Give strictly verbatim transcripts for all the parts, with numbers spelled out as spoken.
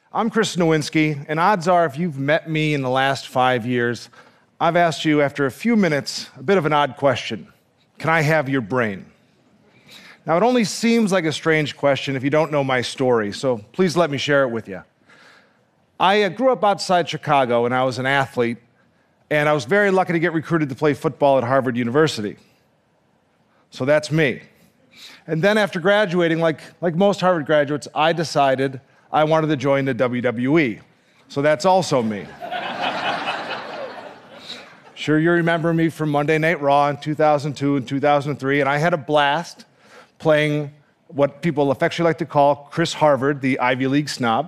I'm Chris Nowinski, and odds are if you've met me in the last five years, I've asked you after a few minutes a bit of an odd question. Can I have your brain? Now, it only seems like a strange question if you don't know my story, so please let me share it with you. I uh, grew up outside Chicago, and I was an athlete, and I was very lucky to get recruited to play football at Harvard University. So that's me. And then after graduating, like, like most Harvard graduates, I decided I wanted to join the W W E. So that's also me. Sure, you remember me from Monday Night Raw in two thousand two and two thousand three, and I had a blast playing what people affectionately like to call Chris Harvard, the Ivy League snob.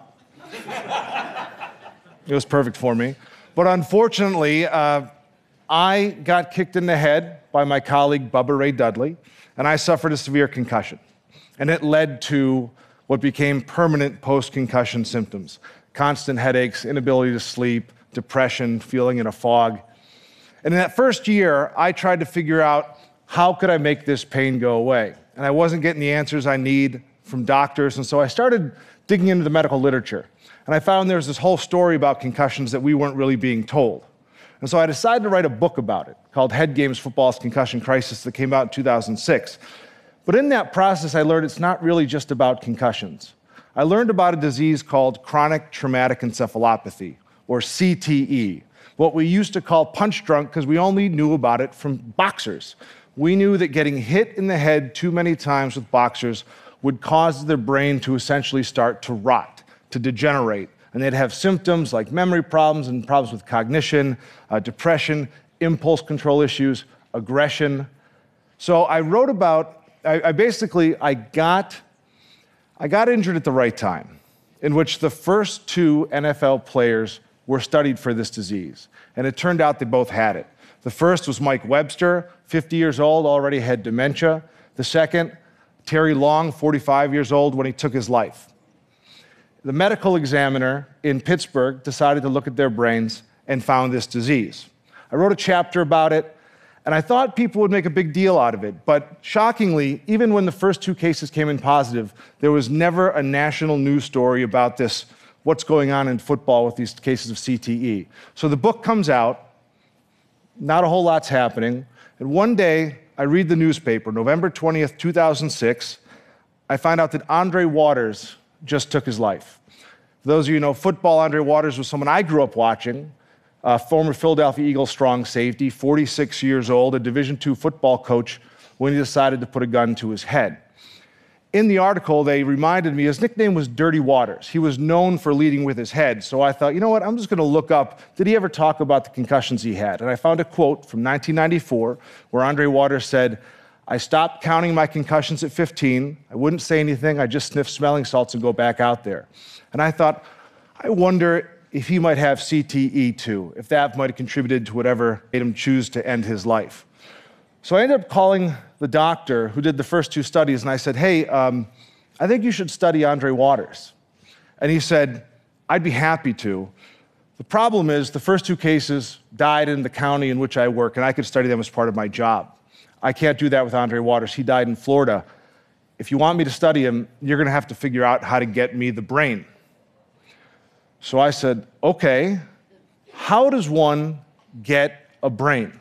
It was perfect for me. But unfortunately, uh, I got kicked in the head by my colleague Bubba Ray Dudley, and I suffered a severe concussion. And it led to what became permanent post-concussion symptoms: constant headaches, inability to sleep, depression, feeling in a fog. And in that first year, I tried to figure out how could I make this pain go away. And I wasn't getting the answers I need from doctors, and so I started digging into the medical literature. And I found there was this whole story about concussions that we weren't really being told. And so I decided to write a book about it called Head Games: Football's Concussion Crisis that came out in two thousand six. But in that process, I learned it's not really just about concussions. I learned about a disease called chronic traumatic encephalopathy, or C T E, what we used to call punch drunk because we only knew about it from boxers. We knew that getting hit in the head too many times with boxers would cause their brain to essentially start to rot, to degenerate, and they'd have symptoms like memory problems and problems with cognition, uh, depression, impulse control issues, aggression. So I wrote about I, I basically, I got, I got injured at the right time, in which the first two N F L players were studied for this disease. And it turned out they both had it. The first was Mike Webster, fifty years old, already had dementia. The second, Terry Long, forty-five years old, when he took his life. The medical examiner in Pittsburgh decided to look at their brains and found this disease. I wrote a chapter about it, and I thought people would make a big deal out of it. But shockingly, even when the first two cases came in positive, there was never a national news story about this, what's going on in football with these cases of C T E. So the book comes out, not a whole lot's happening, and one day I read the newspaper, November twentieth, two thousand six, I find out that Andre Waters just took his life. For those of you who know football, Andre Waters was someone I grew up watching. Uh, former Philadelphia Eagles strong safety, forty-six years old, a Division two football coach, when he decided to put a gun to his head. In the article, they reminded me his nickname was Dirty Waters. He was known for leading with his head. So I thought, you know what, I'm just going to look up, did he ever talk about the concussions he had? And I found a quote from nineteen ninety-four where Andre Waters said, "I stopped counting my concussions at fifteen. I wouldn't say anything. I just sniff smelling salts and go back out there." And I thought, I wonder if he might have C T E too, if that might have contributed to whatever made him choose to end his life. So I ended up calling the doctor who did the first two studies, and I said, hey, um, I think you should study Andre Waters. And he said, I'd be happy to. The problem is the first two cases died in the county in which I work, and I could study them as part of my job. I can't do that with Andre Waters. He died in Florida. If you want me to study him, you're going to have to figure out how to get me the brain. So I said, okay, how does one get a brain?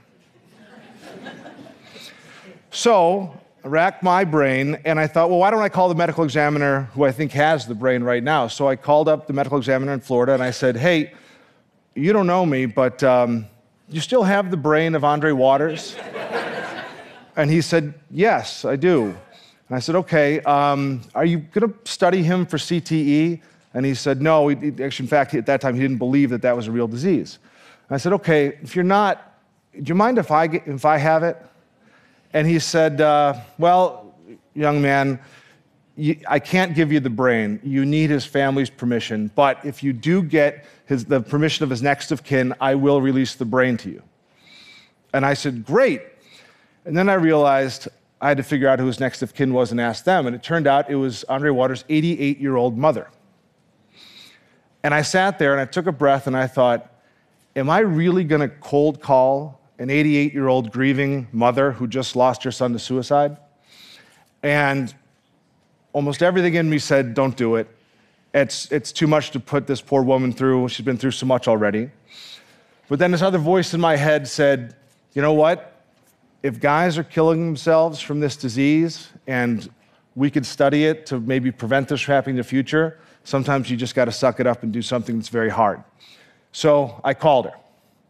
So I racked my brain, and I thought, well, why don't I call the medical examiner who I think has the brain right now? So I called up the medical examiner in Florida, and I said, hey, you don't know me, but um, you still have the brain of Andre Waters? And he said, yes, I do. And I said, okay, um, are you going to study him for C T E? And he said, no, he, actually, in fact, at that time, he didn't believe that that was a real disease. And I said, okay, if you're not, do you mind if I, get, if I have it? And he said, uh, well, young man, you, I can't give you the brain. You need his family's permission. But if you do get his, the permission of his next of kin, I will release the brain to you. And I said, great. And then I realized I had to figure out who his next of kin was and ask them. And it turned out it was Andre Waters' eighty-eight-year-old mother. And I sat there and I took a breath and I thought, am I really going to cold call an eighty-eight-year-old grieving mother who just lost her son to suicide? And almost everything in me said, don't do it. It's, it's too much to put this poor woman through. She's been through so much already. But then this other voice in my head said, you know what? If guys are killing themselves from this disease and we could study it to maybe prevent this from happening in the future, sometimes you just got to suck it up and do something that's very hard. So I called her.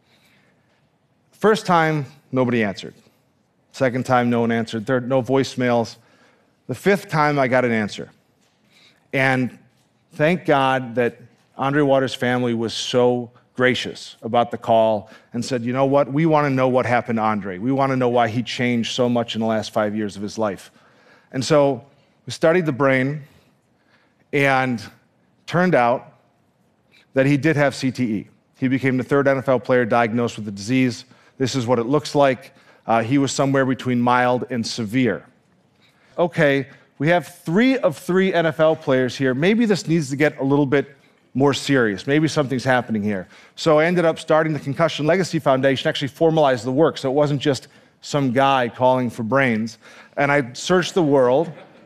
First time, nobody answered. Second time, no one answered. Third, no voicemails. The fifth time, I got an answer. And thank God that Andre Waters' family was so gracious about the call and said, you know what, we want to know what happened to Andre. We want to know why he changed so much in the last five years of his life. And so we studied the brain, and turned out that he did have C T E. He became the third N F L player diagnosed with the disease. This is what it looks like. Uh, he was somewhere between mild and severe. Okay, we have three of three N F L players here. Maybe this needs to get a little bit more serious. Maybe something's happening here. So I ended up starting the Concussion Legacy Foundation, actually formalized the work, so it wasn't just some guy calling for brains. And I searched the world,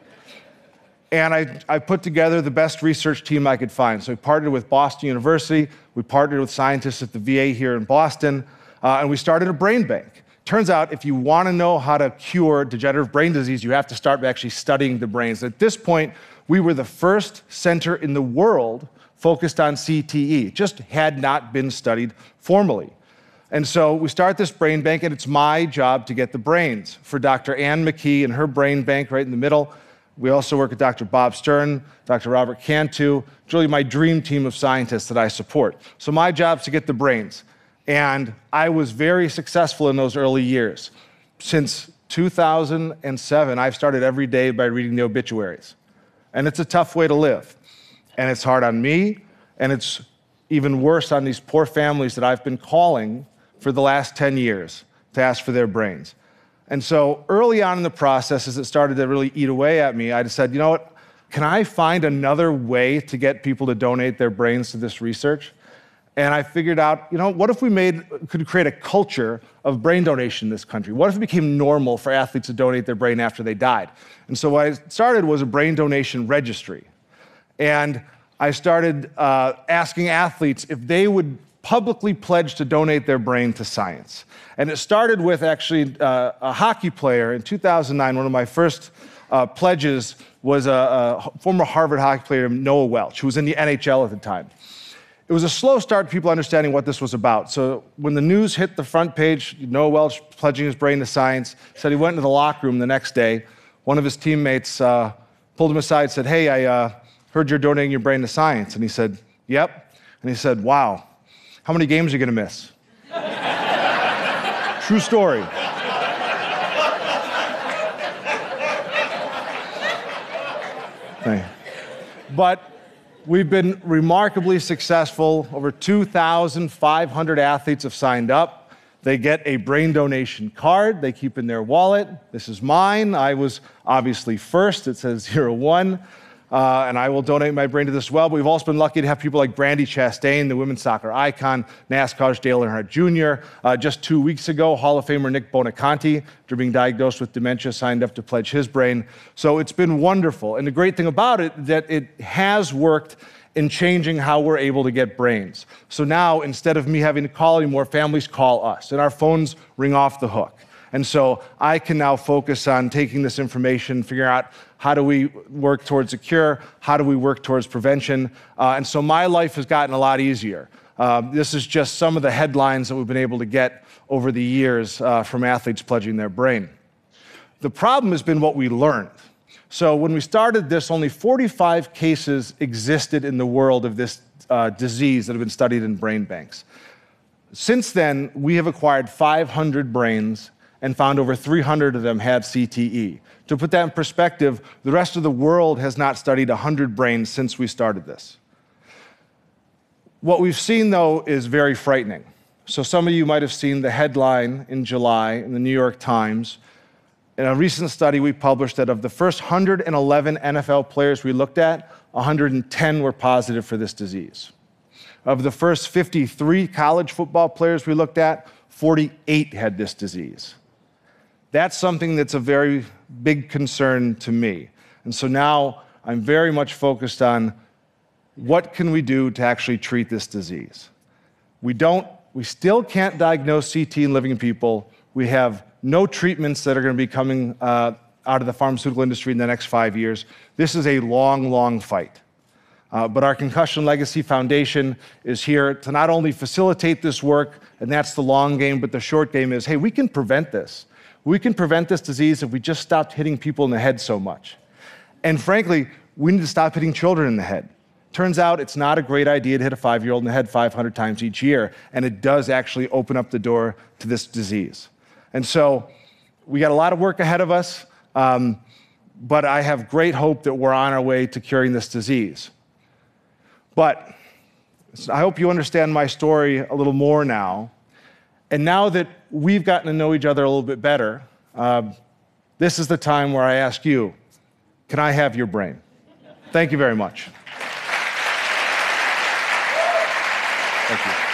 and I, I put together the best research team I could find. So we partnered with Boston University, we partnered with scientists at the V A here in Boston, uh, and we started a brain bank. Turns out if you want to know how to cure degenerative brain disease, you have to start by actually studying the brains. At this point, we were the first center in the world focused on C T E. It just had not been studied formally. And so we start this brain bank, and it's my job to get the brains for Doctor Ann McKee and her brain bank right in the middle. We also work with Doctor Bob Stern, Doctor Robert Cantu. It's really my dream team of scientists that I support. So my job is to get the brains. And I was very successful in those early years. Since two thousand seven, I've started every day by reading the obituaries. And it's a tough way to live. And it's hard on me, and it's even worse on these poor families that I've been calling for the last ten years to ask for their brains. And so early on in the process, as it started to really eat away at me, I just said, you know what, can I find another way to get people to donate their brains to this research? And I figured out, you know, what if we made, could create a culture of brain donation in this country? What if it became normal for athletes to donate their brain after they died? And so what I started was a brain donation registry. And I started uh, asking athletes if they would publicly pledge to donate their brain to science. And it started with actually uh, a hockey player in two thousand nine. One of my first uh, pledges was a, a former Harvard hockey player, Noah Welch, who was in the N H L at the time. It was a slow start to people understanding what this was about. So when the news hit the front page, Noah Welch pledging his brain to science, said he went into the locker room the next day. One of his teammates uh, pulled him aside and said, hey, I uh, heard you're donating your brain to science. And he said, yep. And he said, wow, how many games are you going to miss? True story. But we've been remarkably successful. Over two thousand five hundred athletes have signed up. They get a brain donation card they keep in their wallet. This is mine. I was obviously first. It says zero one. Uh, and I will donate my brain to this as well. But we've also been lucky to have people like Brandi Chastain, the women's soccer icon, NASCAR's Dale Earnhardt Junior Uh, just two weeks ago, Hall of Famer Nick Bonaconte, after being diagnosed with dementia, signed up to pledge his brain. So it's been wonderful. And the great thing about it is that it has worked in changing how we're able to get brains. So now, instead of me having to call anymore, families call us, and our phones ring off the hook. And so I can now focus on taking this information, figuring out how do we work towards a cure, how do we work towards prevention. Uh, and so my life has gotten a lot easier. Uh, this is just some of the headlines that we've been able to get over the years uh, from athletes pledging their brain. The problem has been what we learned. So when we started this, only forty-five cases existed in the world of this uh, disease that have been studied in brain banks. Since then, we have acquired five hundred brains and found over three hundred of them had C T E. To put that in perspective, the rest of the world has not studied one hundred brains since we started this. What we've seen, though, is very frightening. So some of you might have seen the headline in July in the New York Times. In a recent study we published that of the first one hundred eleven N F L players we looked at, one hundred ten were positive for this disease. Of the first fifty-three college football players we looked at, forty-eight had this disease. That's something that's a very big concern to me. And so now I'm very much focused on what can we do to actually treat this disease? We don't, we still can't diagnose C T in living people. We have no treatments that are going to be coming uh, out of the pharmaceutical industry in the next five years. This is a long, long fight. Uh, but our Concussion Legacy Foundation is here to not only facilitate this work, and that's the long game, but the short game is, hey, we can prevent this. We can prevent this disease if we just stopped hitting people in the head so much. And frankly, we need to stop hitting children in the head. Turns out it's not a great idea to hit a five-year-old in the head five hundred times each year, and it does actually open up the door to this disease. And so we got a lot of work ahead of us, um, but I have great hope that we're on our way to curing this disease. But I hope you understand my story a little more now. And now that we've gotten to know each other a little bit better, uh, this is the time where I ask you, can I have your brain? Thank you very much. Thank you.